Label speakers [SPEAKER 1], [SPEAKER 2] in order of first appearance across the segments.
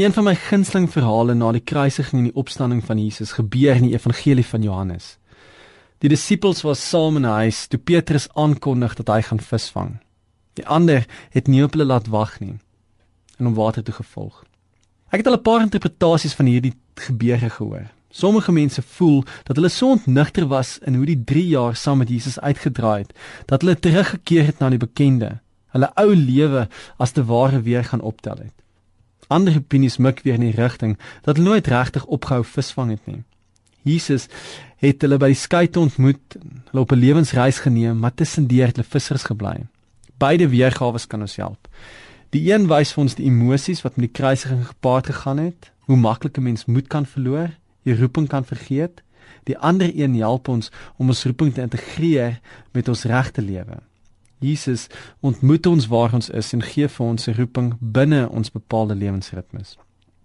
[SPEAKER 1] Een van my gunsteling verhale na die kruisiging en die opstanding van Jesus gebeur in die evangelie van Johannes. Die disippels was saam in 'n huis toe Petrus aankondig dat hy gaan visvang. Die ander het nie op hulle laat wag nie en om water toe gevolg. Ek het al 'n paar interpretasies van hierdie gebeure gehoor. Sommige mense voel dat hulle so ontnigter was in hoe die 3 jaar saam met Jesus uitgedraai het, dat hulle teruggekeer het na die bekende, hulle ou lewe as te ware weer gaan optel het. Ander opinies mik weer in die rigting dat hulle nooit regtig opgehou visvang het nie. Jesus het hulle by die skei ontmoet, hulle op 'n lewensreis geneem, maar tussendeur het hulle vissers gebly. Beide weergawes kan ons help. Die een wys vir ons die emosies wat met die kruisiging gepaard gegaan het, hoe maklik 'n mens moed kan verloor, die roeping kan vergeet. Die ander een help ons om ons roeping te integreer met ons regte lewe. Jesus ontmoet ons waar ons is en gee vir ons 'n roeping binne ons bepaalde lewensritmes.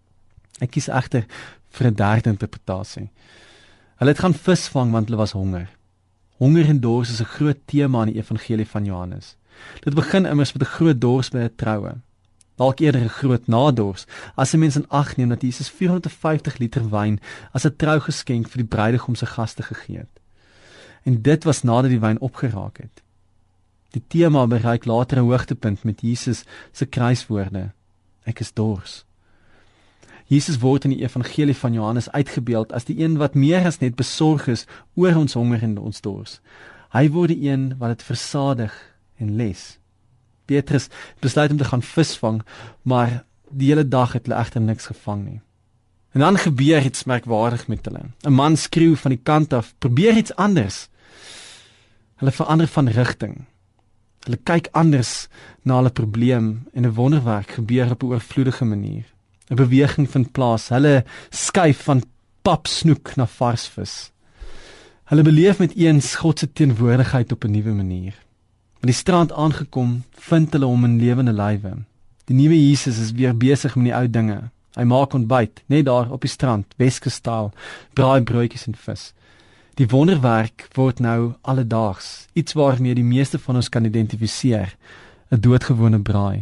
[SPEAKER 1] Ek kies egter vir 'n derde interpretasie. Hulle het gaan visvang want hulle was honger. Honger en dors is 'n groot tema in die evangelie van Johannes. Dit begin immers met 'n groot dors by 'n troue. Dalk eerder 'n groot nadors, as 'n mens in ag neem dat Jesus 450 liter wyn as 'n trougeskenk vir die bruidegom se gaste gegee het. En dit was nadat die wyn opgeraak het. Die tema bereik later 'n hoogtepunt met Jesus se kruiswoorde: Ek is dors. Jesus word in die evangelie van Johannes uitgebeeld as die een wat meer as net besorg is oor ons honger en ons dors. Hy word die een wat dit versadig en les. Petrus besluit om te gaan visvang, maar die hele dag het hulle egter niks gevang nie. En dan gebeur iets merkwaardig met hulle. 'n Man skreeu van die kant af: probeer iets anders. Hulle verander van rigting. Hulle kyk anders na hulle probleem en 'n wonderwerk gebeur op 'n oorvloedige manier. 'n Beweging vind plaas. Hulle skuif van papsnoek na varsvis. Hulle beleef met eens God se teenwoordigheid op 'n nuwe manier. By die strand aangekom, vind hulle hom in lewende lywe. Die nuwe Jesus is weer besig met die ou dinge. Hy maak ontbyt, net daar op die strand, Weskus-styl, braaibroodjies en vis. Die wonderwerk word nou alledaags, iets waarmee die meeste van ons kan identifiseer, 'n doodgewone braai.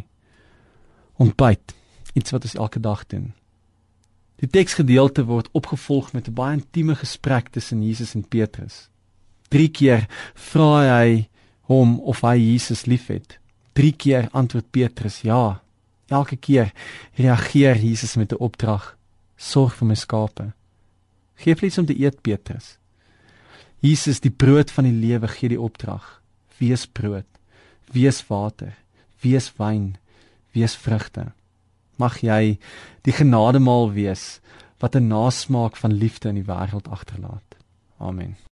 [SPEAKER 1] Ontbyt, iets wat ons elke dag doen. Die teksgedeelte word opgevolg met 'n baie intieme gesprek tussen Jesus en Petrus. 3 keer vra hy hom of hy Jesus liefhet. 3 keer antwoord Petrus ja. Elke keer reageer Jesus met 'n opdrag: sorg vir my skape. Geef iets om te eet, Petrus. Jesus, die brood van die lewe, gee die opdrag: wees brood, wees water, wees wyn, wees vrugte. Mag jy die genademaal wees wat 'n nasmaak van liefde in die wêreld agterlaat. Amen.